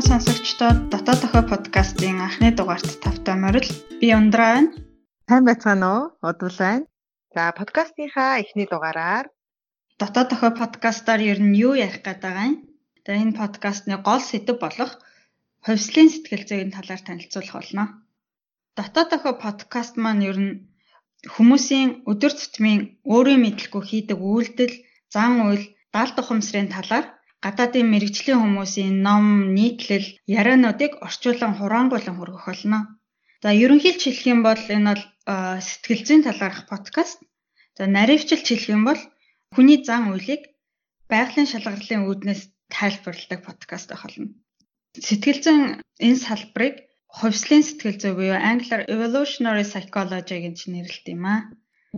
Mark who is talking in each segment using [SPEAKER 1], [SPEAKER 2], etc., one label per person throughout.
[SPEAKER 1] Сонсогчдод Дотоод охой подкастын анхны дугаарт тавтай морил би Ундраа байна.
[SPEAKER 2] Сайн байцгаана уу? Удвал байна. За подкастынхаа эхний дугаараар
[SPEAKER 1] Дотоод охой подкастаар ер нь юу ярих гээд байгаа юм? Тэгээ энэ подкастны гол сэдэв болох хувьслын сэтгэл зүйн талаар танилцуулах болно. Дотоод охой подкаст маань ер нь хүмүүсийн өдөр тутмын өөрийн мэдлэхгүй хийдэг үйлдэл, зан үйл, даалт ухамсарын талаар гадаадын мэрэгжлийн хүмүүсийн ном, нийтлэл, яриануудыг орчуулан хураангуйлан хүргэх болно. За ерөнхийдөө хэлэх юм бол энэ бол сэтгэл зүйн талаарх подкаст. За наривчилж хэлэх юм бол хүний зан үйлийг байгалийн шалгарлын үүднээс тайлбарладаг подкаст байх болно. Сэтгэл зүйн энэ салбарыг хувьслын сэтгэл зүй буюу англиар evolutionary psychology гэж нэрлэдэг юм аа.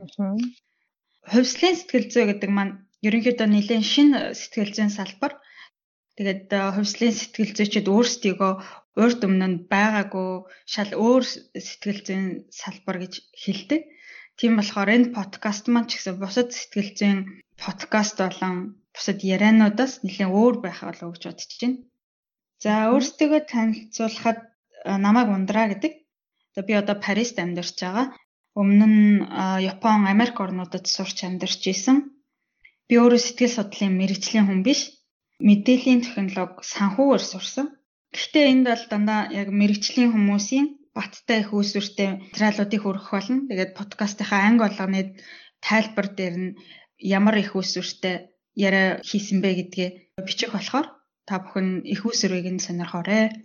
[SPEAKER 1] Хувьслын сэтгэл зүй гэдэг маань ерөнхийдөө нэлээд шинэ сэтгэл зүйн салбар. Тэгээд хувьслын сэтгэл зүйчид өөрсдийгөө урд өмнө нь байгаагүй шал өөр сэтгэл зүйн салбар гэж хэлдэг. Тийм болохоор энэ подкаст маань ч гэсэн бусад сэтгэл зүйн подкаст болон бусад яриануудаас нэлээд өөр байх болов гэж бодож байна. За өөрсдийгөө танилцуулахад намайг Ундраа гэдэг. Би одоо Парист амьдарч байгаа. Өмнө нь Япон, Америк орнуудад сурч амьдарч исэн. Би өөрөө сэтгэл судлалын мэрэгжлийн хүн биш. Мэдээллийн технологи санхүүгээр сурсан. Гэхдээ энд бол дандаа яг мэрэгжлийн хүмүүсийн баттай их үүсвэртэй материалуудыг хүргэх болно. Тэгээд подкастынхаа анги болгоны тайлбар дээр нь ямар их үүсвэртэй яриа хийсэн бэ гэдгээ бичих болохоор та бүхэн их үүсвэрийг нь сонирхоорой.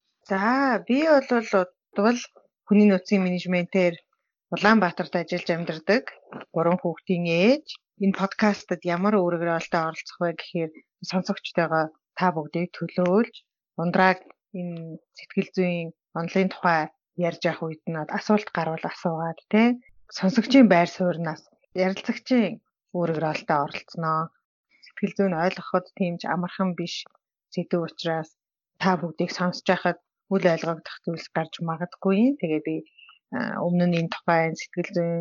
[SPEAKER 2] За би бол хүний нөөцийн менежментээр Улаанбаатарт ажиллаж амьдардаг 3 хүүхдийн ээж. Энэ подкастад ямар өөрөөрөлтөд оролцох вэ гэхээр сонсогчтойгоо та бүгдийг төлөөлж Ундрааг энэ сэтгэл зүйн онлайн тухай ярьж явах үед нь асуулт гарвал асуугаад сонсогчийн байр сууриас ярилцагчийн өөрөөрөлтөд оролцсноо. Сэтгэл зүйн ойлгоход тиймж амархан биш сэдв учраас та бүгдийг сонсож байхад үл ойлгогдох зүйлс гарч магадгүй. Тэгээ би өмнө нь энэ тухай сэтгэл зүйн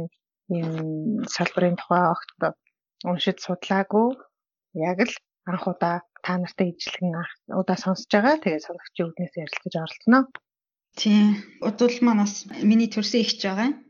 [SPEAKER 2] энэ салбарын тухай огт уншиж судлаагүй. Яг л анх удаа та нартай ижилхэн удаа сонсож байгаа. Тэгээ сонсогчийн үднээс ярилцаж оролцсноо.
[SPEAKER 1] Тийм. Удвал маань бас миний төрсөн ихч байгаа юм.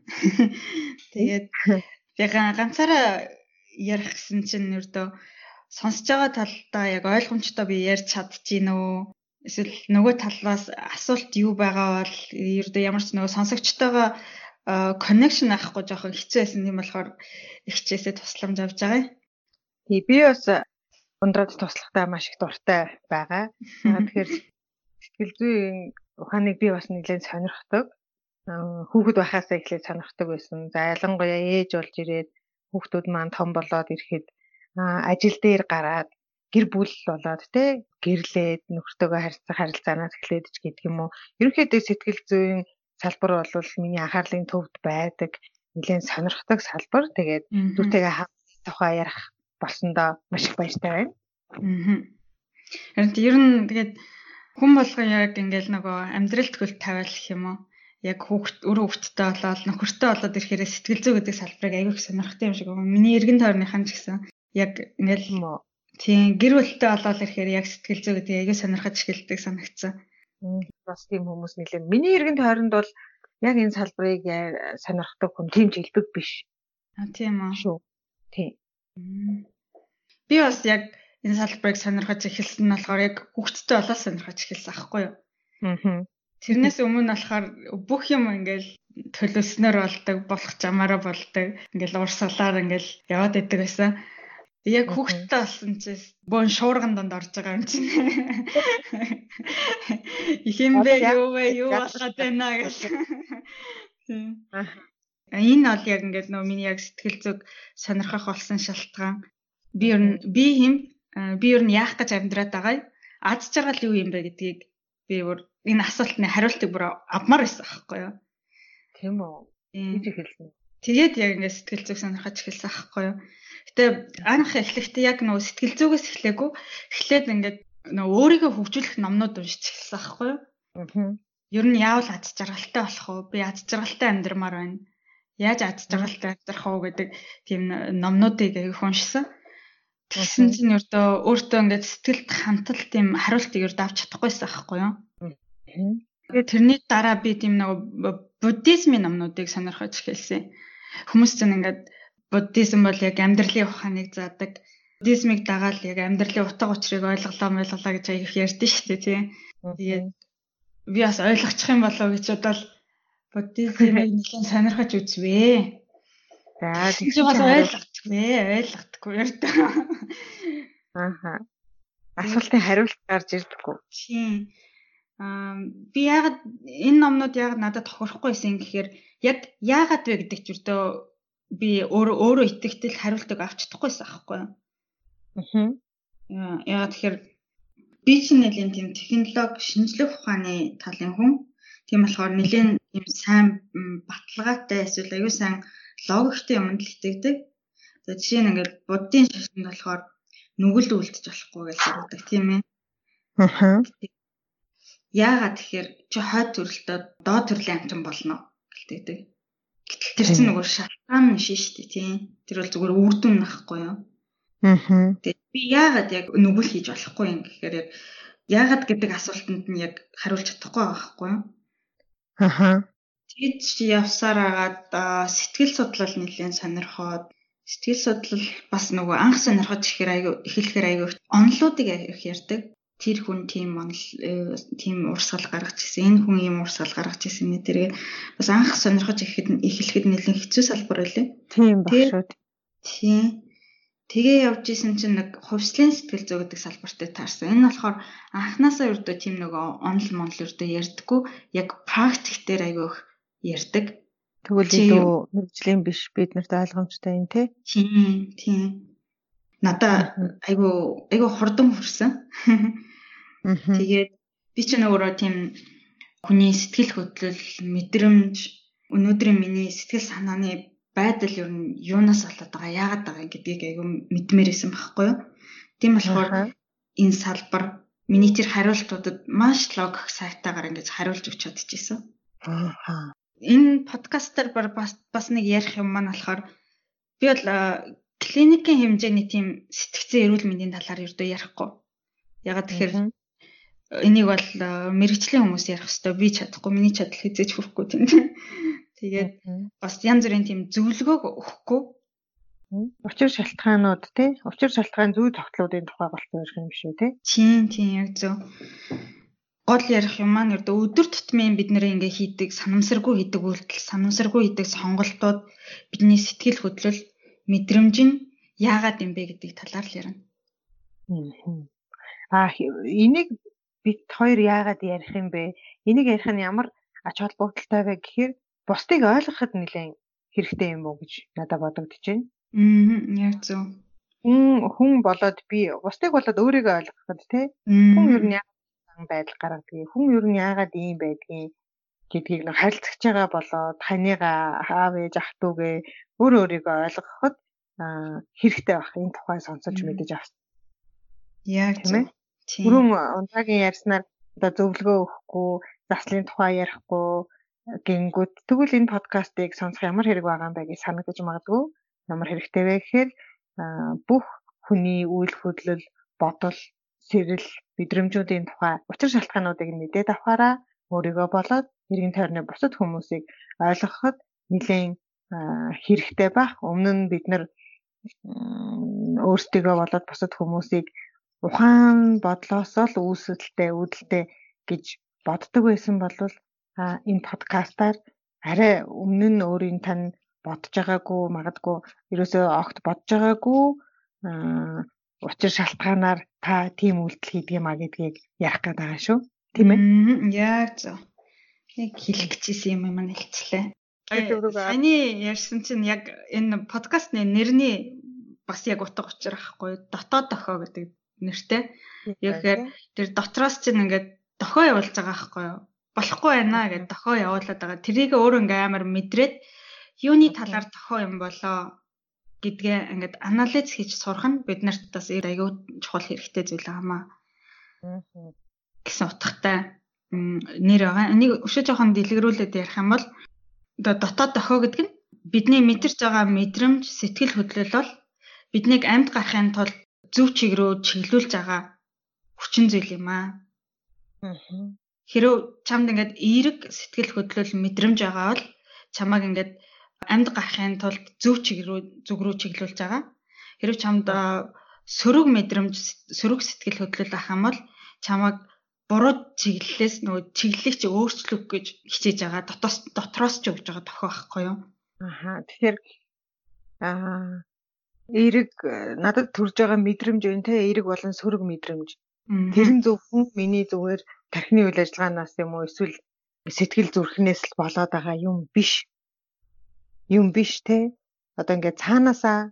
[SPEAKER 1] Тэгээд би ганцаараа ярих гэсэн чинь ердөө сонсож байгаа талдаа яг ойлгомжтой би ярьж чадчихэв. Эсвэл нөгөө талаас асуулт юу байгаа бол ердөө ямар ч нөгөө сонсогчтойгоо connection авахгүй жоохон хэцүү байсан юм болохоор ихчээсээ тусламж авч байгаа.
[SPEAKER 2] Тий би бас Ундраад туслахтаа маш их дуртай байгаа. Тэгэхээр сэтгэл зүйн ухааныг би бас нэлээд сонирхдог. Хүүхэд байхаасаа эхлээд сонирхдог байсан. За ялангуяа ээж болж ирээд хүүхдүүд маань том болоод ирэхэд ажил дээр гараад гэр бүл болоод гэрлээд нөхөртөөгөө харилцаанаас эхлээд ч гэдэг юм уу. Ерөнхийдөө сэтгэл зүйн салбар бол миний анхаарлын төвд байдаг нэлээд сонирхдаг салбар. Тэгээд түүтэйгээ тухай ярих болсондоо маш их баяртай байна.
[SPEAKER 1] Харин ер нь тэгээд хүн болгоо яг ингээл нөгөө амьдрал төгөлд тавиал гэх юм уу. Яг хүүхдтэй болоод нөхөртэй болоод ирэхээр сэтгэл зүй гэдэг салбарыг аягүй сонирхдаг юм шиг байна. Миний эргэн тойрныхан ч гэсэн яг ингээл тийм гэр бүлтэй болоод ирэхээр яг сэтгэл зүй гэдэг аягүй сонирхож эхэлдэг санагдсан.
[SPEAKER 2] Бас тийм хүмүүс нэлээд. Миний эргэн тойронд бол яг энэ салбарыг сонирхдаг хүн тийм ч хэлбэг биш.
[SPEAKER 1] Тийм үү.
[SPEAKER 2] Шүү. Тийм.
[SPEAKER 1] Би бас яг энэ салбарыг сонирхож эхэлсэн нь болохоор яг хүүхдтэй болоод сонирхож эхэлсэн аахгүй юу? Тэрнээс өмнө болохоор бүх юм ингээл төлөвснөр болдог, болох замаараа болдог. Ингээл уурсгалаар ингээл яваад идэг байсан. Яг хүүхдтэй болсон чинь бөөн шуурган донд орж байгаа юм чинь. Их юм бэ юу болоход байна гэж. Энэ бол яг ингээд нөгөө миний яг сэтгэл зүг сонирхох болсон шалтгаан. Би ер нь яах гэж амьдраад байгаа. Аз жаргал юу юм бэ гэдгийг би энэ асуултны хариултыг бүр авмаар байсан аахгүй юу?
[SPEAKER 2] Тийм үү. Гэж хэлсэн.
[SPEAKER 1] Тэгээд яг ингээд сэтгэл зүг сонирхож эхэлсэн аахгүй юу? Гэтэ анх эхлэхдээ яг нөгөө сэтгэл зүгээс эхлэегүй. Эхлээд ингээд нөгөө өөрийгөө хөгжүүлэх номнууд уншиж эхэлсэн аахгүй юу? Ер нь яавал аз жаргалтай болох вэ? Би аз жаргалтай амьдрмаар байна. Яаж аз жаргалтай амьдрах вэ гэдэг тийм номнуудыг их уншсан. Тэгсэн чинь өөртөө ингээд сэтгэлд хандлт тийм хариултыг авч чадахгүйсэн аахгүй юу?
[SPEAKER 2] Аа.
[SPEAKER 1] Тэрний дараа би тийм нэг буддизмын номнуудыг сонирхож эхэлсэн. Хүмүүс ч ингээд буддизм бол яг амьдралын ухааныг заадаг. Буддизмыг дагаад яг амьдралын утга учирыг ойлголоо гэж аяг их ярьдэн шүү дээ тий. Тэгээд би бас ойлгочих юм болов гэж бодвол буддизмыг нэлээд сонирхож үзвээ.
[SPEAKER 2] За
[SPEAKER 1] чи бас ойлгохгүй ярьдаг.
[SPEAKER 2] Ааха. Асуултын хариулт гарч ирдэггүй.
[SPEAKER 1] Тийм. Би яагаад энэ номнууд яагаад надад тохирохгүй байсан гэхээр яг яагаад вэ гэдэг ч үрдөө би өөрөө итгэвтэл хариултыг авч чадахгүйсэн аахгүй юу. Яагаад тэгэхээр би чинь нэлийн тийм технологи шинжлэх ухааны талын хүн. Тийм болохоор нэлийн тийм сайн баталгаатай эсвэл аюу сайн логиктэй юмд л итгэдэг. За жишээ нь ингээд буддийн шашинд болохоор нүгэл үлдчих болохгүй гэж хэлдэг тийм ээ. Яагаад тэгэхээр чи хойд төрөлтөө доод төрлийн амтан болно гэлтэйдэг. Гэтэл тэр чинь нөгөө шалтгаан нь шүү дээ тийм. Тэр бол зүгээр үр дүн нахгүй юу. Тэгээд би яагаад яг нүгэл хийж болохгүй юм гэхээр яг яагаад гэдэг асуултанд нь яг хариулж чадахгүй байгаа байхгүй юу. Тэгээд чи явсаар агаад сэтгэл судлал нэлээд сонирхоод сэтгэл судлал бас нөгөө анх сонирхож эхлэхээр аягүй онолуудыг их ярьдаг. Тэр хүн тийм урсгал гаргаж ирсэн. Энэ хүн ийм урсгал гаргаж ирсэн нэ тэргээ бас анх сонирхож эхлэхэд нэлээд хэцүү салбар байлээ.
[SPEAKER 2] Тийм баг шүү.
[SPEAKER 1] Тийм. Тэгээ явж исэн чинь нэг хувьслын сэтгэл зүй гэдэг салбартай таарсан. Энэ болохоор анханасаа ердөө тийм нөгөө онол ердөө ярьдаггүй. Яг практик дээр аягүй их ярьдаг.
[SPEAKER 2] Тэгвэл илүү мэргэжлийн биш бид нарт ойлгомжтой юм те.
[SPEAKER 1] Тийм. Надаа айгу хурдан хүрсэн. Тэгээд би ч өөрөө тийм хүний сэтгэл хөдлөл, мэдрэмж, өнөөдрийн миний сэтгэл санааны байдал ер нь юунаас болоод байгаа, яагаад байгаа гэдгийг айгу мэдмээр исэн байхгүй юу? Тийм болохоор энэ салбар миний тэр хариултуудад маш логик сайтаагаар ингэж хариулж өгч чадчихсан. Энэ подкастер бас нэг ярих юм маань болохоор би бол клиникийн хэмжээний тийм сэтгцэн эрүүл мэндийн талаар ердөө ярихгүй. Ягаад тэгэхээр энийг бол мэрэгжлийн хүмүүс ярих хэвээр би чадахгүй, миний чадал хэзээж хүрэхгүй тийм. Тэгээд бас янз бүрийн тийм зөвлөгөөг өгөхгүй.
[SPEAKER 2] Учир шалтгаанууд тий? Учир шалтгаан зүй тогтлуудын тухай болсон юм шүү тий?
[SPEAKER 1] Тийм яг зөв. Гол ярих юм маань ердөө өдөр тутмын бид нэр ингээ хийдэг санамсаргүй хийдэг үйлдэл, санамсаргүй хийдэг сонголтууд бидний сэтгэл хөдлөл, мэдрэмж нь яагаад юм бэ гэдэг талаар л ярина.
[SPEAKER 2] Энийг бид хоёр яагаад ярих юм бэ? Энийг ярих нь ямар ач холбогдолтой вэ гэхээр бусдыг ойлгоход нэлээд хэрэгтэй юм уу гэж надад бодогдож байна.
[SPEAKER 1] Яг зөв.
[SPEAKER 2] Хүн болоод би бусдыг болоод өөрийгөө ойлгоход тий? Хүн ер нь байдал гаргадаг. Хүн ер нь яагаад ийм байдгийг гэдгийг нэг харилцагч байгаа болоод таныгаа аав ээж ах дүүгээ өөрийгөө ойлгоход хэрэгтэй байх. Энэ тухай сонсож мэдэж авсан.
[SPEAKER 1] Яг тийм ээ.
[SPEAKER 2] Түрүүн унтаагийн ярьснаар одоо зөвлөгөө өгөхгүй, заслын тухай ярихгүй гингүүд тэгвэл энэ подкастыг сонсох ямар хэрэг байгаа юм бэ гэж санагдаж магадгүй. Ямар хэрэгтэй вэ гэхээр бүх хүний үйл хөдлөл, бодол, сэрэл, мэдрэмжүүдийн тухай учир шалтгаануудыг мэдээд авахаараа өөрийгөө болоод эргэн тойрны бусад хүмүүсийг ойлгоход нэлээд хэрэгтэй байх. Өмнө нь бид нар өөрсдийгөө болоод бусад хүмүүсийг ухаан бодлоосоо л үүдэлтэй гэж боддог байсан бол энэ подкастаар арай өмнө нь өөрийн тань бодож байгаагүй магадгүй ерөөсөө огт бодож байгаагүй учир шалтгаанаар та тийм үйлдэл хийдэг юм а гэдгийг ярих гээд байгаа шүү. Тийм ээ?
[SPEAKER 1] Яг зөв. Яг хэлэх гэжсэн юм маань хэлцлээ. Саяны ярьсан чинь яг энэ подкастны нэрний бас яг утга учир ахгүй дотоод дохоо гэдэг нэртэй. Тэгэхээр тэр дотроос чинь ингээд дохоо явуулж байгаа ахгүй юу? Болохгүй байна гэдээ дохоо явуулаад байгаа. Тэрийг өөрөө ингээ амар мэдрээд юуны талаар дохоо юм болоо гэдгээ ингээд анализ хийж сурах нь бид нарт бас аюу чухал хэрэгтэй зүйл аамаа. Гэсэн утгатай нэр байгаа. Энийг өшөө жоохон дэлгэрүүлээд ярих юм бол дотоод дохоо гэдэг нь бидний мэдэрч байгаа мэдрэмж, сэтгэл хөдлөл бол биднийг амьд гарахын тулд зөв чиг рүү чиглүүлж байгаа хүчин зүйл юм аа. Хэрэв чамд ингээд эерэг сэтгэл хөдлөл мэдрэмж байгаа бол чамайг ингээд амьд гарахын тулд зөв зүг рүү чиглүүлж байгаа. Хэрэв чамд сөрөг мэдрэмж, сөрөг сэтгэл хөдлөл ах юм бол чамайг буруу чиглэлээс нөгөө чиглэлийг чи өөрчлөх гэж хичээж байгаа. Дотроос ч өгж байгаа тохио байхгүй юу?
[SPEAKER 2] Тэгэхээр эерэг надад төрж байгаа мэдрэмж байна те, эерэг болон сөрөг мэдрэмж. Тэр нь зөвхөн миний зүгээр тархины үйл ажиллагаанаас юм уу эсвэл сэтгэл зүрхнээс л болоод байгаа юм биш. Юм биш те. Одоо ингээд цаанаасаа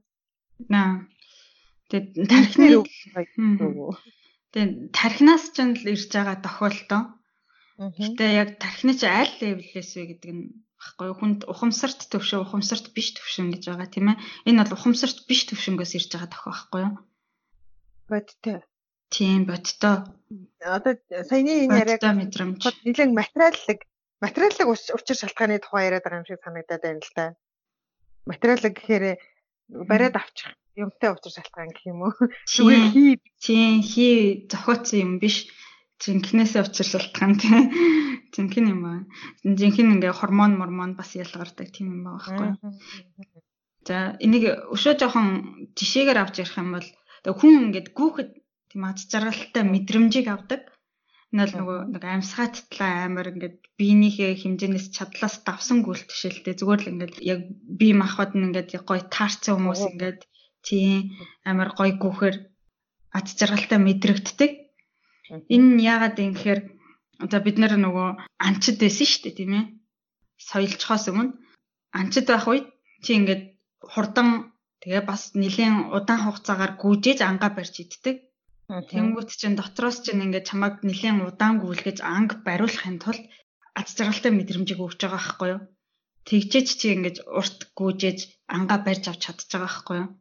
[SPEAKER 1] тэгээд тархины тэгээд тархинаас ч л ирж байгаа тохиолдол. Гэтэ яг тархины чи аль левелээс вэ гэдэг нь баггүй хүнд ухамсарт төвшин, ухамсарт биш төвшин гэж байгаа тийм ээ. Энэ бол ухамсарт биш төвшингөөс ирж байгаа тохио байхгүй юу?
[SPEAKER 2] Бодтой.
[SPEAKER 1] Тийм бодтой.
[SPEAKER 2] Одоо саяны энэ яриаг
[SPEAKER 1] мэдрэмж.
[SPEAKER 2] Нэлээд материаллык учир шалтгааны тухай яриад байгаа юм шиг санагдаад байна л да. Материаллык гэхээр бариад авчих юмтай учир шалтгаан гэх юм уу?
[SPEAKER 1] Тийм хий зохиоцсон юм биш. Жинхнээсээ учир шалтгаан тийм. Жинхэнэ юм аа. Жинхэнэ ингээ гормон бас ялгардаг тийм юм байгаа байхгүй. За энийг өшөө жоохон жишээгээр авч ярих юм бол хүн ингээд гүүхэд тийм аз жаргалтай мэдрэмжийг авдаг. Энэ бол нөгөө амьсгаа татлаа амар ингээд биенийхээ хэмжээнээс чадлаас давсан гүйлтгшэлтэй зүгээр л ингээд яг бие махбод нь ингээд гоё таарсан хүмүүс ингээд тийм амар гоё гүүхээр аз жаргалтай мэдрэгддэг. Энэ яагаад юм гэхээр одоо бид нар нөгөө анчид байсан шүү дээ тийм ээ. Соёлцохоос өмнө анчид байх үед чи ингээд хурдан тэгээ бас нэлээд удаан хугацаагаар гүйжээж ангаа барьж иддэг. Тэнгүүт чинь дотроос чинь ингээд чамайг нэлээд удаан гүйлгэж анги бариулахын тулд аз жаргалтай мэдрэмжийг өгч байгаа байхгүй юу? Тэгжээч чи ингээд урт гүйжээж ангаа барьж авч чадчих байгаа байхгүй юу?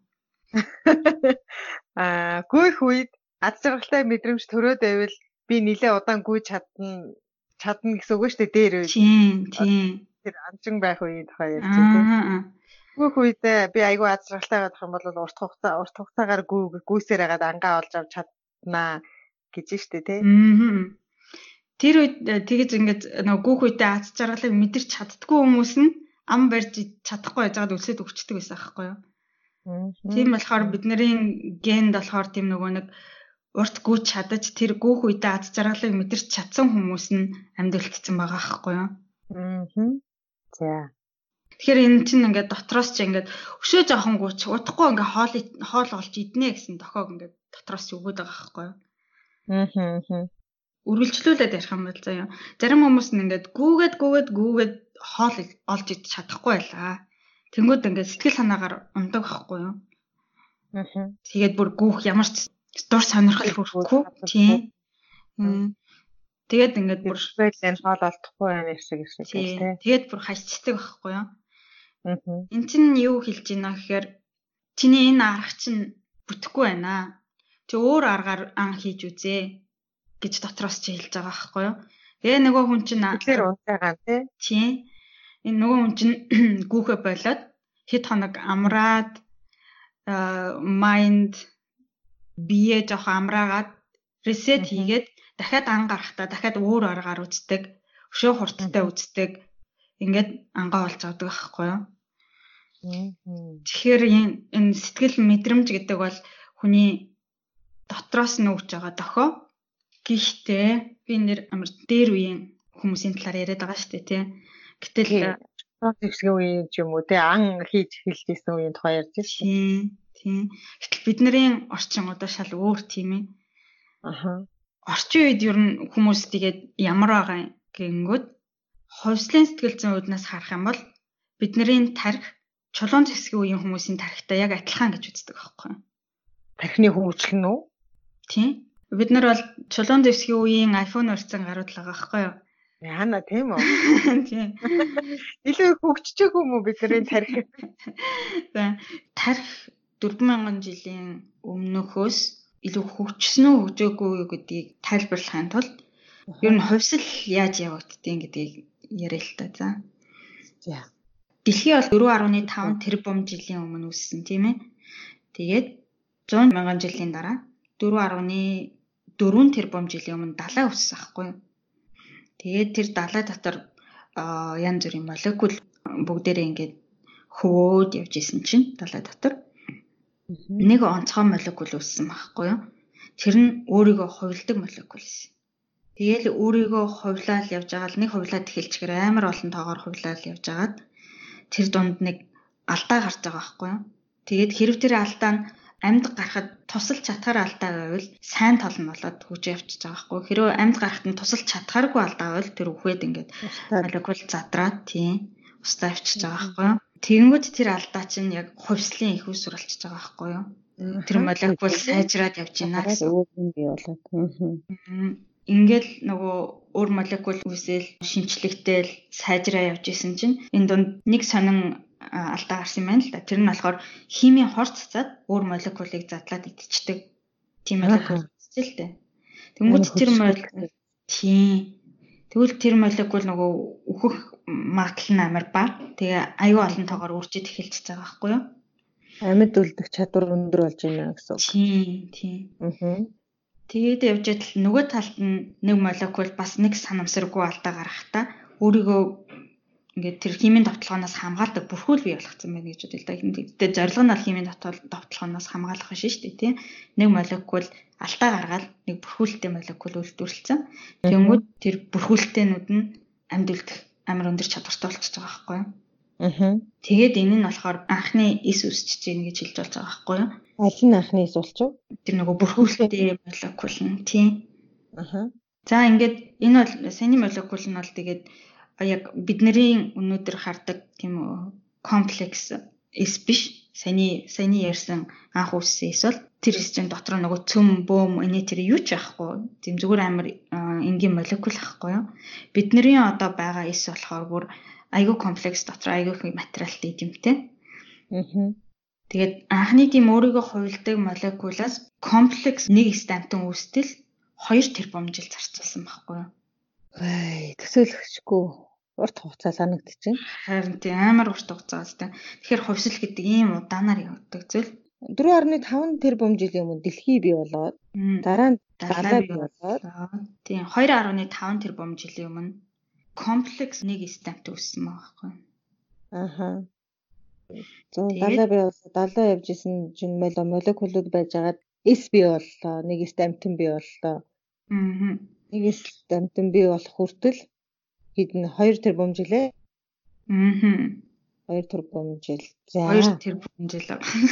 [SPEAKER 2] Гүйх үед аз жаргалтай мэдрэмж төрөөд байвал би нэлээд удаан гүйж чадна гэсэн үг шүү дээ дээр үед.
[SPEAKER 1] Тийм.
[SPEAKER 2] Тэр анчин байх үед хоёр тийм. Гүйх үед би айгүй аз жаргалтай байх юм бол урт хугацаагаар гүйсээр хагаад ангаа олж авч чаднаа гэж штэ тий.
[SPEAKER 1] Тэр үед тэгэж ингээд нөгөө гүйх үедээ аз жаргалыг мэдэрч чаддгүй хүмүүс нь ам барьж чадахгүй байжгаад өлсөд өвчтдөг байсан аахгүй юу? Тийм болохоор бидний генд болохоор тийм нөгөө нэг урт гүйж чадаж тэр гүйх үедээ аз жаргалыг мэдэрч чадсан хүмүүс нь амьд үлдсэн байгаа аахгүй юу?
[SPEAKER 2] За.
[SPEAKER 1] Тэгэхээр энэ чинь ингээд дотроос ч ингээд өшөө жоохон гүйч удахгүй ингээд хоол олж иднэ гэсэн тохиог ингээд дотроос ч өгöd байгаа аахгүй юу? Үргэлжлүүлээд ярих юм бол заяа. Зарим хүмүүс нь ингээд гүүгээд хоол олж идэж чадахгүй байлаа. Тэнгүүд ингээд сэтгэл санаагаар ундаг байхгүй юу? Тэгээд бүр гүүх ямар ч дур сонирхол хүрхгүй. Тийм. Тэгээд ингээд бүр
[SPEAKER 2] байлаа хоол олдохгүй байх шиг тийм.
[SPEAKER 1] Тэгээд бүр хашчдаг байхгүй юу? Энд чинь юу хэлж байна гэхээр чиний энэ арга чинь бүтэхгүй байна. Чи өөр аргаар ан хийж үзээ гэж дотроос чи хэлж байгаа байхгүй юу? Тэгээ нөгөө хүн чинь
[SPEAKER 2] тэр унтайгаа
[SPEAKER 1] тийм. Энэ нөгөө хүн чинь гүүхэ болоод хэд хоног амраад майнд бие жоох амраагаад ресет хийгээд дахиад ан гарахтаа дахиад өөр аргаар үздэг, өшөө хурдтай үздэг. Ингээд ангаа олж авдаг байхгүй юу? Тэгэхээр энэ сэтгэл мэдрэмж гэдэг бол хүний дотроос нь өгч байгаа дохио. Гэхдээ би нэр амар дээр үеийн хүмүүсийн талаар яриад байгаа шүү дээ тий. Гэтэл
[SPEAKER 2] хэвсгийн үеийн ч юм уу тий ан хийж эхэлжсэн үеийн тухай ярьж
[SPEAKER 1] байна. Тийм. Гэтэл бидний орчин одоо шал өөр тийм ээ. Орчин үед ер нь хүмүүс тэгээд ямар байгаа гингүүд хувьслын сэтгэл зүйн үүднээс харах юм бол бидний тарих чулуун зэвсгийн үеийн хүмүүсийн тарихтай яг адилхан гэж үздэг байхгүй юу?
[SPEAKER 2] Тархины хөгжил нь үү?
[SPEAKER 1] Тийм. Бид нар бол чулуун зэвсгийн үеийн iPhone өрцөн гарууд л байгаа байхгүй юу?
[SPEAKER 2] Яана тийм үү?
[SPEAKER 1] Тийм.
[SPEAKER 2] Илүү хөгжиж юм уу бидний тарих?
[SPEAKER 1] За тарих 4000 жилийн өмнөхөөс илүү хөгжсөн үү хөгжөөгүй юу гэдгийг тайлбарлахын тулд ер нь хувьсэл яаж явагддгийг гэдгийг яриа л та. За. Дэлхий бол 4.5 тэрбум жилийн өмнө үүссэн тийм ээ. Тэгээд 100 мянган жилийн дараа 4.4 тэрбум жилийн өмнө далай үүссэн байхгүй юу? Тэгээд тэр далай дотор янз бүрийн молекул бүгдээрээ ингээд хөвөөд явж исэн чинь далай дотор нэг онцгой молекул үүссэн байхгүй юу? Тэр нь өөрийгөө хувилдаг молекул байсан. Тэгээл өөрийгөө хувилаад явж байгаа л нэг хувилаад эхэлчихээр амар олон тоогоор хувилаад явж агаад тэр дунд нэг алдаа гарч байгаа байхгүй юу? Тэгээд хэрв тэр алдаа нь амьд гарахад тусалж чадхаар алдаа байвал сайн тал нь болоод хөгж явчихж байгаа байхгүй юу? Хэрвээ амьд гарахад нь тусалж чадхааргүй алдаа байвал тэр үхээд ингээд молекул задраад тийм устаа авчиж байгаа байхгүй юу? Тэгэнгүүт тэр алдаа чинь яг хувьслын их усүр болчихж байгаа байхгүй юу? Тэр молекул сайжраад явж байна гэсэн.
[SPEAKER 3] бий болоод.
[SPEAKER 1] Ингээл нөгөө өөр молекул үүсэл шинчлэгтэл сайжраа явж исэн чинь энэ дунд нэг сонин алдаа гарсан юм байна л да. Тэр нь болохоор химийн хор цацаад өөр молекулыг задлаад идчихдэг. Тийм молекул үүсэл л дээ. Тэнгүүт тэр молекул тэгвэл тэр молекул нөгөө үхэх магадлал нь амар бага. Тэгээ аюу олон тоогоор үржиж эхэлчихэж байгаа байхгүй юу?
[SPEAKER 3] Амьд үлдэх чадвар өндөр болж байна гэсэн үг.
[SPEAKER 1] Тийм. Тэгээд явж идэл нөгөө талд нь нэг молекул бас нэг санамсаргүй алдаа гаргахтаа өөрийгөө ингээд тэр химийн давталгаанаас хамгаалдаг бүрхүүл бий болгоцсон байна гэж бодъё л да. Тэгээд зорилго нь бол химийн давталгаанаас хамгаалах биш шүү дээ, тийм. Нэг молекул алдаа гаргаад нэг бүрхүүлтэй молекул үйлдвэрлэсэн. Тэнгүүд тэр бүрхүүлтэйнүүд нь амьд үлдэх амар өндөр чадвартай болчихж байгаа байхгүй юу? Тэгээд энэ нь болохоор анхны ис үсчихэж гин гэж хэлж болж байгаа байхгүй юу?
[SPEAKER 3] Аль нь анхны ис болчих вэ?
[SPEAKER 1] Тэр нөгөө бүрхүүлтэй молекул нь тийм. За ингээд энэ бол саяны молекул нь бол тэгээд яг бидний өнөөдөр хардаг тийм комплекс эс биш. Саяны ярьсан анх үүссэн эс бол тэр эс чинь дотор нөгөө цөм бөөм энэ тэр юу ч ахгүй. Тийм зүгээр амар энгийн молекул ахгүй юу? Бидний одоо байгаа эс болохоор бүр айгүй комплекс дотор айгүй их материалтай юм те. Тэгээд анхны тийм өөрийгөө хувилдаг молекулаас комплекс нэг стамптан үүстэл 2 тэрбум жил зарцуулсан байхгүй юу?
[SPEAKER 3] Төсөөлөгчгүй урт хугацаа санагдчихэв.
[SPEAKER 1] Харин тийм амар урт хугацаа байна. Тэгэхээр хувьсэл гэдэг ийм удаанаар явдаг зүйл.
[SPEAKER 3] 4.5 тэрбум жилийн өмнө дэлхий бий болоод дараа нь далай бий болоод
[SPEAKER 1] тийм 2.5 тэрбум жилийн өмнө комплекс нэг стампт үүссэн байгаа байхгүй.
[SPEAKER 3] Далай бий болоод далай явж исэн чинь молекулууд байж агаад эс бий боллоо, нэг стамптын бий боллоо. Нэг стамптын бий болох хүртэл хэдэн 2 тэрбум жилээ. 2 тэрбум жил. За
[SPEAKER 1] 2 тэрбум жил.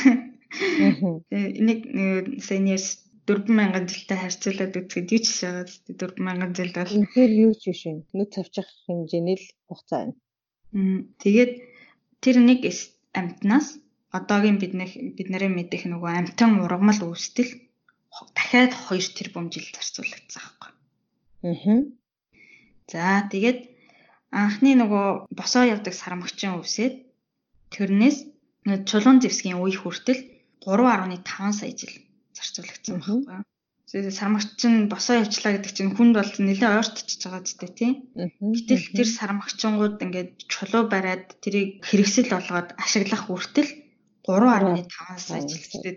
[SPEAKER 1] Нэг сеньерс 4,000 жилтэй харьцуулаад үзэхэд юу ч шагаад 4,000 жил бол
[SPEAKER 3] үнэхээр юу ч биш юм. Нүд цавчих хэмжээний л хугацаа байна.
[SPEAKER 1] Тэгээд тэр нэг амьтнаас одоогийн бидний мэдэх нөгөө амьтан ургамал үүстэл дахиад 2 тэрбум жил зарцуулагдсан байхгүй. За тэгээд анхны нөгөө босоо явдаг сармагчин үсээд тэрнээс чулуун зэвсгийн үе хүртэл 3.5 сая жил зарцуулагдсан байхгүй. Тэгээд сармагчин босоо явчлаа гэдэг чинь хүнд бол нэлээд ойртчихж байгаа ч тийм. Гэтэл тэр сармагчингууд ингээд чулуу бариад тэрийг хэрэгсэл болгоод ашиглах хүртэл 3.5 сая жил. Тэгээд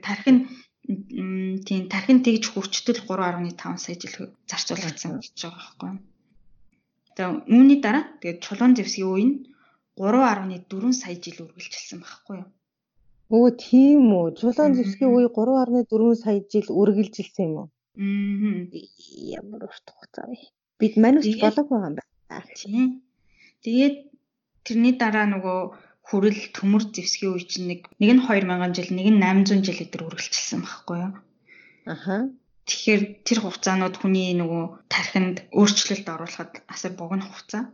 [SPEAKER 1] тархин тэгж хүрчтэл 3.5 сая жил зарцуулагдсан гэж байгаа байхгүй. Тэгээд үүний дараа тэгээд чулуун зэвсгийн үе нь 3.4 сая жил үргэлжилсэн байхгүй юу?
[SPEAKER 3] Тийм үү. Чулуун зэвсгийн үе 3.4 сая жил үргэлжилсэн юм уу? Ямар урт хугацаа вэ? Бид манайч болоогүй байгаа юм байна.
[SPEAKER 1] Тийм. Тэгээд тэрний дараа нөгөө хүрэл төмөр зэвсгийн үе чинь нэг нь 2000 жил, нэг нь 800 жил өдөр үргэлжилсэн байхгүй юу? Тэгэхээр тэр хугацаанууд хүний нөгөө тархинд өөрчлөлт оруулахад асар богино хугацаа.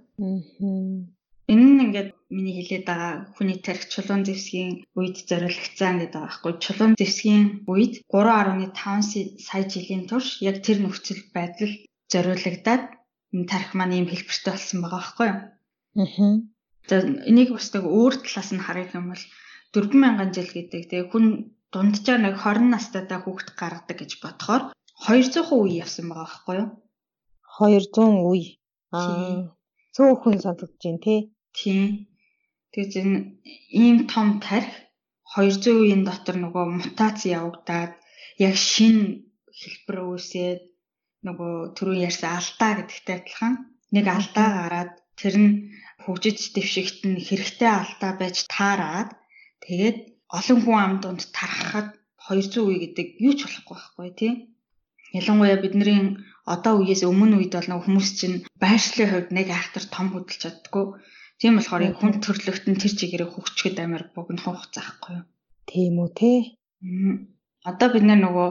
[SPEAKER 1] Энэ нь ингээд миний хэлээд байгаа хүний тархи чулуун зэвсгийн үед зориулагдсан гэдэг байгаа байхгүй. Чулуун зэвсгийн үед 3.5 сая жилийн турш яг тэр нөхцөл байдал зориулагдаад энэ тархи маань ийм хэлбэртэй болсон байгаа байхгүй юу? За энийг бас нэг өөр талаас нь харах юм бол 4,000 жил гэдэг тэгээ хүн дунджаар нэг 20 настайдаа хүүхэд гаргадаг гэж бодохоор 200 үе явсан байгаа байхгүй юу?
[SPEAKER 3] 200 үе. Цөөхөн санагдаж байна тий.
[SPEAKER 1] Тийм. Тэгээд ийм том тархи 200 үеийн дотор нөгөө мутац явагдаад яг шинэ хэлбэр үүсээд нөгөө түрүү ярьсан алдаа гэдэгтэй адилхан нэг алдаа гараад тэр нь хөгжиж дэвшигт нь хэрэгтэй алдаа байж таараад тэгээд олон хүн амд тархахад 200 үе гэдэг юу ч болохгүй байхгүй тий. Ялангуяа бидний одоо үеэс өмнө үед бол нэг хүмүүс чинь байршлын хувьд нэг айхтар том хөдөлж чаддгүй. Тийм болохоор хүн төрлөخت нь тэр чигээрээ хөгжчихэд амар богинохон хугацаа байхгүй юу?
[SPEAKER 3] Тийм үү те.
[SPEAKER 1] Одоо бид нөгөө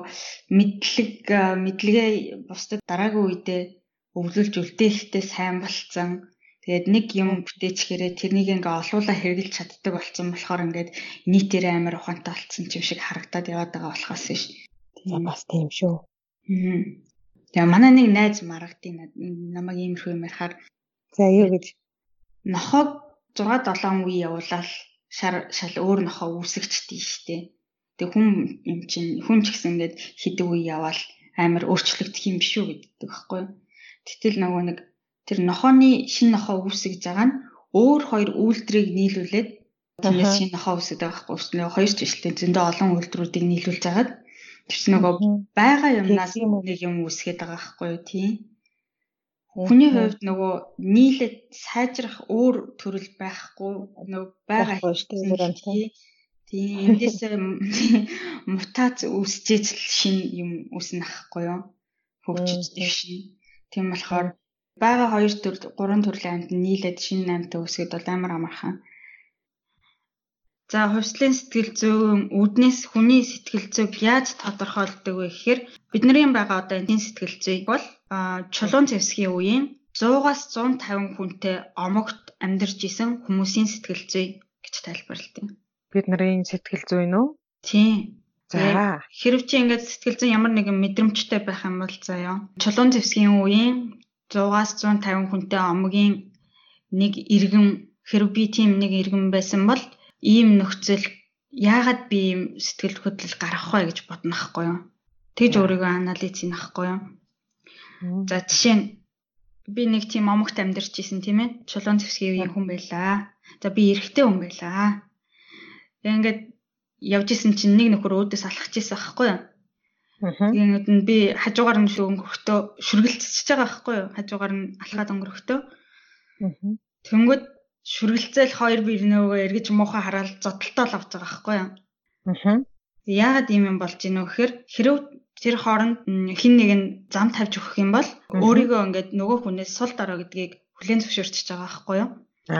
[SPEAKER 1] мэдлэгээ бусдад дараагийн үедээ өвлүүлж үлдээхтэй сайн болцсон. Тэгээд нэг юм бүтээчгээрээ тэрнийг ингээ олуулаа хэрэгжилж чаддаг болсон болохоор ингээд нийтээрээ амар ухаантай болцсон юм шиг харагдаад яваад байгаа болохоос биш.
[SPEAKER 3] За бас тийм шүү.
[SPEAKER 1] Тэгээ манай нэг найз маргадын намайг иймэрхүү юм ярихаар
[SPEAKER 3] за юу гэж
[SPEAKER 1] нохог 6-7 үе явуулаад шал өөр нохоо үүсгэжтэй штэ. Тэг хүн ч гэсэн ингээд хэдэг үе яваал амар өөрчлөгдөх юм биш үү гэдэг байхгүй. Гэтэл нөгөө нэг тэр нохооны шинэ нохоо үүсгэж байгаа нь өөр хоёр үйлдвэрийг нийлүүлээд тэрнээс шинэ нохоо үүсгэж байгаа байхгүй. Нөгөө хоёр жилтэй зөндөө олон үйлдвэрүүдийг нийлүүлж агаад тэр нөгөө байгаа юмнаас нэг юм үүсгээд байгаа байхгүй юу тийм. Хүний хувьд нөгөө нийлээд сайжрах өөр төрөл байхгүй нөгөө байгаа шүү. Тийм эндээс мутац үүсчээж шинэ юм үүснэ ахгүй юу? Хөгжиж дэвшин. Тийм болохоор байгаа 2 3 төрлийн амьд нийлээд шинэ амьтаа үүсгээд бол амар амархан. За хувьслын сэтгэл зүйн үүднээс хүний сэтгэл зүйг яаж тодорхойлдог вэ гэхээр бидний байгаа одоо энэ сэтгэл зүй бол чулуун зэвсгийн үеийн 100-аас 150 хүнтэй омогт амьдарч исэн хүмүүсийн сэтгэл зүй гэж тайлбарладаг.
[SPEAKER 2] Бидний сэтгэл зүй нь үү?
[SPEAKER 1] Тийм.
[SPEAKER 2] За
[SPEAKER 1] хэрв чи ингээд сэтгэл зүйн ямар нэгэн мэдрэмжтэй байх юм бол заяа. Чулуун зэвсгийн үеийн 100-аас 150 хүнтэй омгийн нэг иргэн хэрв би тийм нэг иргэн байсан бол ийм нөхцөл яагаад би ийм сэтгэл хөдлөл гаргах вэ гэж бодно ахгүй юу? Тэгж өөрийгөө анализ хийн ахгүй юу? За жишээ нь би нэг тийм омогт амьдарч исэн тийм ээ. Чулуун зэвсгийн үеийн хүн байлаа. За би эрэгтэй хүн байлаа. Ингээд явж исэн чинь нэг нөхөр өөдөөс алхаж исэн байхгүй юу? Тэгээд нь би хажуугаар нь өнгөрөхдөө шүргэлцэж байгаа байхгүй юу? Хажуугаар нь алхаад өнгөрөхдөө. Тэнгүүд шүргэлцэл хоёр бие нөгөө эргэж муухай хараад зодтолтой л авч байгаа байхгүй юу? Яагаад ийм юм болж ийнө гэхээр хэрв тэр хооронд хин нэг нь зам тавьж өгөх юм бол өөрийгөө ингээд нөгөө хүнээс сул дорой гэдгийг хүлээн зөвшөөрч байгаа байхгүй юу?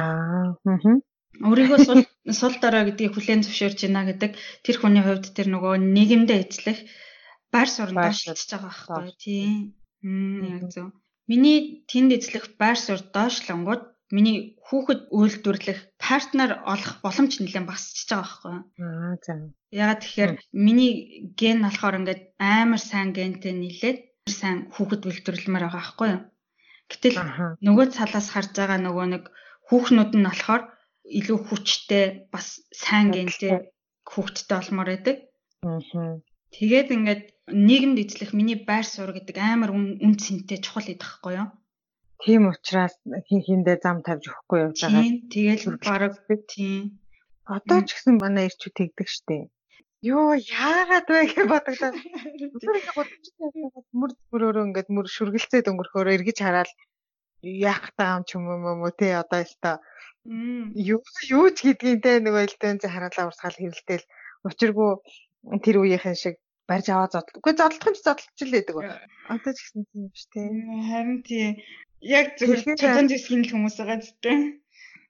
[SPEAKER 1] Өөрийгөө сул дорой гэдгийг хүлээн зөвшөөрч байна гэдэг тэр хүний хувьд тэр нөгөө нийгэмдээ эзлэх байр суурь доошлж байгаа байхгүй тийм. Яг зөв. Миний тэнд эзлэх байр суурь доошлонгууд миний хүүхэд үйлдвэрлэх партнер олох боломж нэлээд багасчихж байгаа байхгүй.
[SPEAKER 2] За.
[SPEAKER 1] Ягаад тэгэхээр миний ген болохоор ингээд амар сайн гентэй нийлээд сайн хүүхэд үйлдвэрлэмээр байгаа байхгүй юу. Гэтэл нөгөө талаас харж байгаа нөгөө нэг хүүхнүүд нь болохоор илүү хүчтэй бас сайн гентэй хүүхэдтэй олмоор байдаг. Тэгээд ингээд нийгэмд эзлэх миний байр суурь гэдэг амар үн цэнтэй чухал идэх байхгүй юу.
[SPEAKER 2] Тийм учраас хиндээ зам тавьж өгөхгүй явж байгаа.
[SPEAKER 1] Тийм. Тэгэл бараг тийм.
[SPEAKER 2] Одоо ч гэсэн манай ирчүүд тэгдэг штеп. Йоо яагаад вэ гэж бодогдоо. Өөрөөр бодож мөрөөрөө ингээд мөр шүргэлцээд өнгөрөхөөр эргэж хараад яах таам ч юм уу те одоо өстой юу ч гэдгийг те нөгөө элдвэн хараалаа урсгаал хэрэлдээл учиргүй тэр үеийнхэн шиг барьж аваа зодтол. Үгүй зодтолох юм чи зодтолч л байдаг. Одоо ч гэсэн тийм биш те.
[SPEAKER 1] Харин тийм. Яг зөвхөн чулуун зэвсгийн хүмүүс байгаа зүтэй.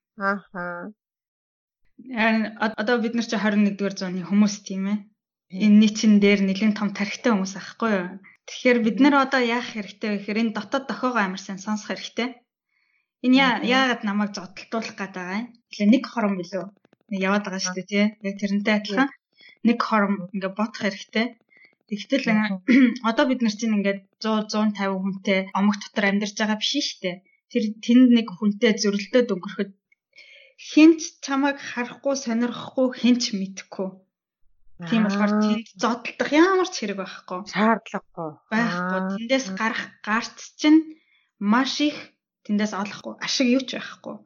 [SPEAKER 1] Одоо бид нар чи 21-р зууны хүмүүс тийм ээ. Энэ нийтэн дээр нэлийн том тархитай хүмүүс ахгүй юу? Тэгэхээр бид нар одоо яах хэрэгтэй вэ гэхээр энэ дотоод дохиогоо амар сайн сонсох хэрэгтэй. Энэ яагаад намайг зодтолтуулах гээд байгаа юм? Тэгэхээр нэг хором билүү? Яваад байгаа шүү дээ тий. Яг тэрнтэй адилхан нэг хором ингээ бодох хэрэгтэй. Тэгтэл одоо бид нар чинь ингээд 100 150 хүнтэй омог дотор амьдарч байгаа биш шүү дээ. Тэр тэнд нэг хүнтэй зөрөлдөөд өнгөрөхөд хинч чамайг харахгүй сонирхгүй хинч мэдхгүй. Тийм болохоор тэнд зодтолдох ямар ч хэрэг байхгүй.
[SPEAKER 2] Шаардлагагүй.
[SPEAKER 1] Байхгүй. Тэндээс гарах гарц чинь маш их тэндээс олохгүй ашиг юу ч байхгүй.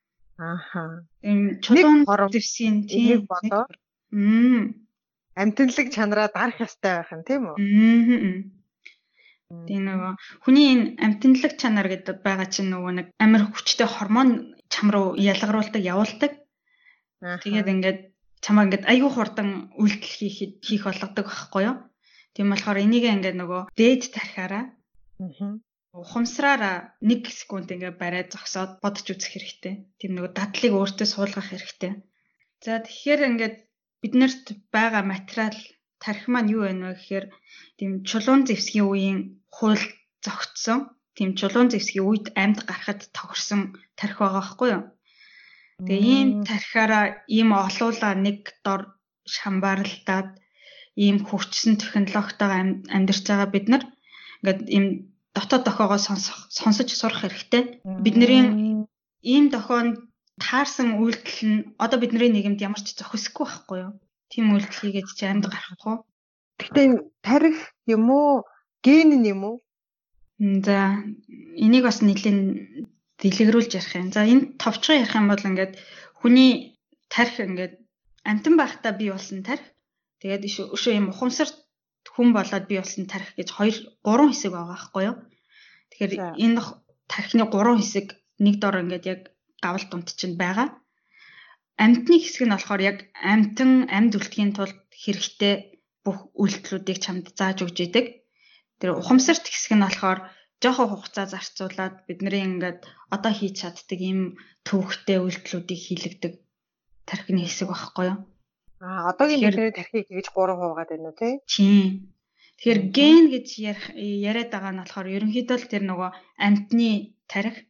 [SPEAKER 1] Ийм чулуун дэвсийн тийм
[SPEAKER 2] болоо. Амтналаг чанараа дарах ёстой байх юм тийм үү?
[SPEAKER 1] Тэгээ нөгөө хүний энэ амьтанлаг чанар гэдэг байгаа чинь нөгөө нэг амар хүчтэй гормон чам руу ялгаруулдаг, явуулдаг. Тэгээд ингээд чамаа ингээд аюу хурдан үйлдэл хийх болгодог байхгүй юу? Тийм болохоор энийг ингээд нөгөө дээд тархиараа ухамсараараа 1 секунд ингээд бариад зогсоод бодож үзэх хэрэгтэй. Тийм нөгөө дадлыг өөртөө суулгах хэрэгтэй. За тэгэхээр ингээд биднэрт байгаа материал тархи маань юу вэ гэхээр тийм чулуун зэвсгийн үеийн хууль зогтсон. Тийм чулуун зэвсгийн үед амьд гарахад тохирсон тархи байгаа байхгүй юу? Тэгээ ийм тархиараа ийм олуулаа нэг дор шамбаарлаад ийм хөгжсөн технологитойгоо амьдарч байгаа бид нар ингээд ийм дотоод дохоогоо сонсож сурах хэрэгтэй. Бидний ийм дохоонд таарсан үйлдэл нь одоо бидний нийгэмд ямар ч зохисгүй байхгүй юу? Тийм үйлдэл хийгээд чи амьд гарахгүй.
[SPEAKER 2] Гэхдээ энэ тарих юм уу? Ген нь юм уу?
[SPEAKER 1] За энийг бас нэлийн дэлгэрүүлж ярих юм. За энэ товчхон ярих юм бол ингээд хүний тарих ингээд амтан байхдаа бий болсон тарих. Тэгээд өшөө юм ухамсар хүн болоод бий болсон тарих гэж 3 хэсэг байгаа байхгүй юу? Тэгэхээр энэ тархины 3 хэсэг нэг дор ингээд яг гавал дунд чинь байгаа. Амьтны хэсэг нь болохоор яг амьд үлдэхийн тулд хэрэгтэй бүх үйлдэлүүдийг чамд зааж өгч идэг. Тэр ухамсарт хэсэг нь болохоор жоохон хугацаа зарцуулаад бидний ингээд одоо хийж чаддаг ийм төвөгтэй үйлдэлүүдийг хийлэгдэг тархины хэсэг байхгүй юу?
[SPEAKER 2] Одоогийн бидний тархийг гэж 3 хуваагаад байна уу тий?
[SPEAKER 1] Тийм. Тэгэхээр ген гэж яриад байгаа нь болохоор ерөнхийдөө л тэр нөгөө амьтны тарих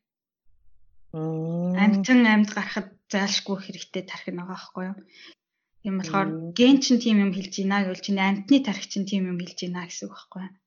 [SPEAKER 1] амьтан амьд гарахад зайлшгүй хэрэгтэй тархи байгаа байхгүй юу? Тийм болохоор ген чинь тийм юм хэлж ийна гэвэл чинь амьтны тархи чинь тийм юм хэлж ийна гэсэн үг байхгүй юу?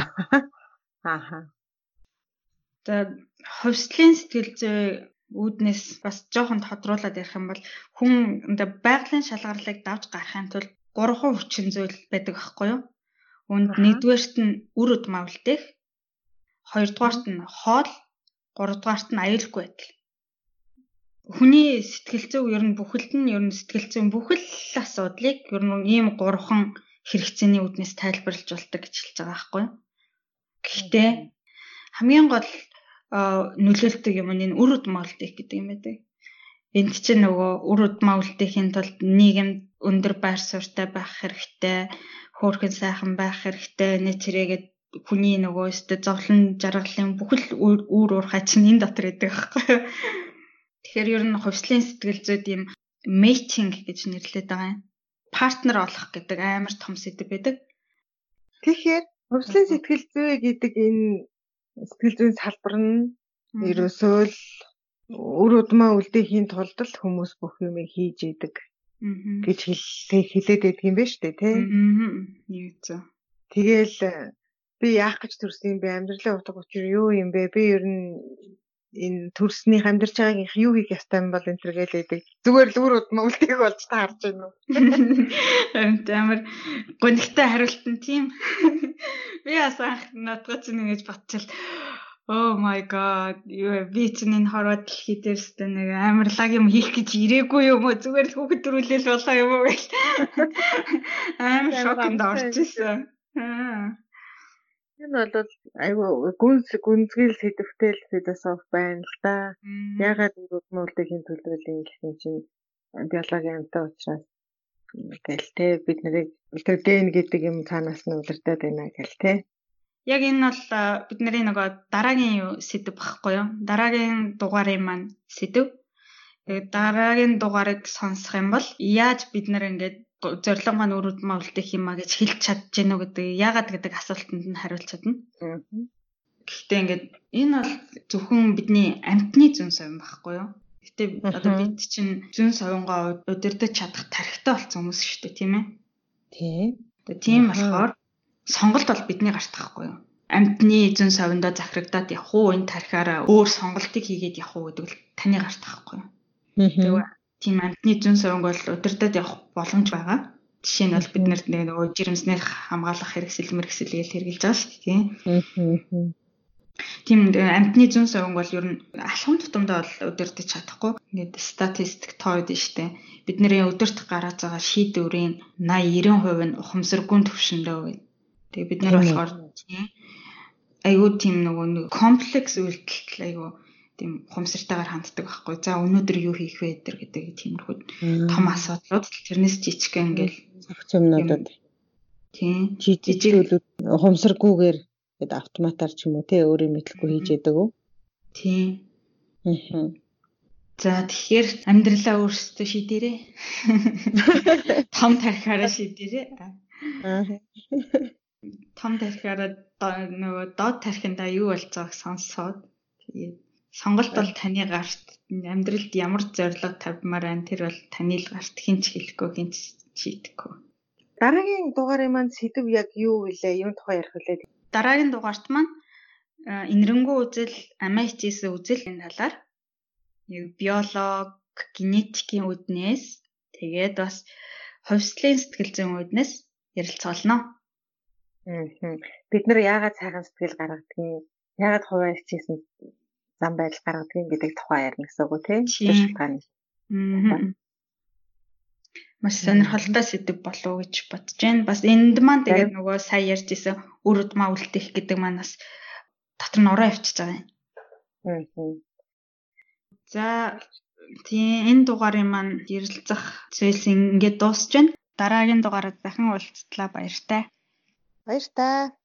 [SPEAKER 1] За хувьслын сэтгэл зүй үүднээс бас жоохон тодруулаад ярих юм бол хүн байгалийн шалгарлыг давж гарахын тулд 3 хүчин зүйл байдаг байхгүй юу? Үүнд нэгдүгээрт нь үр удмаа үлдээх, хоёрдугаарт нь хоол, гуравдугаарт нь аюулгүй байдал. Хүний сэтгэл зүй ер нь бүхэлд нь ер нь сэтгэл зүйн бүхэл асуудлыг ер нь ийм 3 хэрэгцээний үүднээс тайлбарлаж болдог гэж хэлж байгаа байхгүй юу? Гэхдээ хамгийн гол нөлөөлдөг юм нь энэ үр удмаа үлдээх гэдэг юм байдаг. Энд чинь нөгөө үр удмаа үлдээхийн тулд нийгэмд өндөр байр суурьтай байх хэрэгтэй, хөөрхөн сайхан байх хэрэгтэй, нэчрээгээд хүний нөгөө өстө зовлон жаргалын бүхэл үр уурхай чинь энэ дотор байдаг байхгүй юу? Тэгэхээр ер нь хувьслын сэтгэл зүйд ийм matching гэж нэрлэдэг байгаа юм. Партнер олох гэдэг амар том сэдэв байдаг.
[SPEAKER 2] Тэгэхээр хувьслын сэтгэл зүй гэдэг энэ сэтгэл зүйн салбар нь ерөөсөө л үр удмаа үлдээхийн тулд л хүмүүс бүх юм хийж идэг гэж хэлээд байдаг юм байна шүү дээ тий.
[SPEAKER 1] Юу ч.
[SPEAKER 2] Тэгэл би яах гэж төрсөн юм бэ? Амьдралын утга учир юу юм бэ? Би ер нь энэ төрсний амьдарч байгаагийнх юу хийх ёстой юм бол энэ төр гэлээдэг. Зүгээр л үр удмаа үлдээх болж таарч байна уу?
[SPEAKER 1] Амар гонхтой хариулт нь тийм. Би бас анх надад чинь ингэж батчил. Oh my god. Би чинь энэ хорвоо дэлхий дээрс нэг амар лаг юм хийх гэж ирээгүй юм уу? Зүгээр л хүүхэд төрүүлэл болоо юм уу гэл. Амар шокнд орчихсон.
[SPEAKER 2] Энэ бол айгүй гүнзгийл сэдвтэй л философи байна л да. Ягаад үр удмаа үлдээхийн төлөвлөлийн гэсэн чинь биологийн амьтан учраас гэлтэй бид нарыг тэр ген гэдэг юм цаанаас нь удирдах байна гэлтэй.
[SPEAKER 1] Яг энэ бол бидний нөгөө дараагийн сэдв багхгүй юу? Дараагийн дугаарын маань сэдв. Дараагийн дугаарыг сонсох юм бол яаж бид нар ингэж зорилго маань үр удмаа үлдээх юм а гэж хэлж чадж гэнэ үү гэдэг яагаад гэдэг асуултанд нь хариулж чадна. Гэхдээ ингээд энэ бол зөвхөн бидний амьтны зүүн совин байхгүй юу? Гэтэ одоо бид чинь зүүн совингоо удирдах чадах тархитай болсон хүмүүс шүү дээ, тийм ээ? Тийм болохоор сонголт бол бидний гарт байхгүй юу? Амьтны зүүн совиндоо захирагдаад явах уу, энэ тархиараа өөр сонголтыг хийгээд явах уу гэдэг л таны гарт байхгүй юу? Тэгээ тийм амьтны зүүн совинг бол удирдах явах боломж байгаа. Жишээ нь бол бид нар нөгөө жирэмснээс хамгаалах хэрэгсэл мэргэсэлгээл хэрэгжилж байгаа шүү дээ, тийм. Тийм амьтны зүүн совинг бол ер нь алхам тутамдаа бол удирдах чадахгүй. Ингээд статистик тоод нь шүү дээ. Бидний удирдах гараад байгаа шийдвэрийн 80-90% нь ухамсаргүй төвшөндөө гэдэг. Тэгээ бид нар болохоор айгүй тийм нэг комплекс үйлдэлт айгүй тийм ухамсартайгаар ханддаг байхгүй. За өнөөдөр юу хийх вэ гэдэг тиймэрхүү том асуудлууд тэрнээс жижигхэн ингээл
[SPEAKER 3] зохиц юмнуудад
[SPEAKER 1] тийм
[SPEAKER 3] жижиг ухамсаргүйгээр гээд автоматар ч юм уу те өөрөө мэдлэхгүй хийж яадаг уу?
[SPEAKER 1] Тийм. За тэгэхээр амьдралаа өөрсдөө шийдээрэй. Том тархиараа шийдээрэй. Том тархиараа нөгөө доод тархиндаа юу болцоог сонсоод тэгээд сонголт бол таны гарт амьдралд ямар зорилго тавьмаар байна тэр бол таны л гарт хинч хэлэхгүй хинч шийдэхгүй.
[SPEAKER 2] Дараагийн дугаарын маань сэдв яг юу вэ? Юун тухай ярих вэ?
[SPEAKER 1] Дараагийн дугаарт маань инэрэнгүү үзэл, амиа хичээсэн үзэл энэ талаар биолог, генетикийн үүднээс тэгээд бас хувьслын сэтгэл зүйн үүднээс ярилцгаална.
[SPEAKER 2] Бид нар яагаад сайхан сэтгэл гаргадгийг, яагаад хувиа хичээсэн зам байдал гаргадгийг гэдэг тухай ярина гэсэн үг тийм.
[SPEAKER 1] Маш сонирхолтой сэдв болов уу гэж бодож байна. Бас энд маань тэгээд нөгөө сая ярьж исэн үр удмаа үлдээх гэдэг маань бас дотор нь ороо явчихж байгаа юм. За тийм энэ дугаарын маань ярилцах зүйлс ингээд дуусч байна. Дараагийн дугаараар дахин уулзтлаа баяртай.
[SPEAKER 2] Баяртай.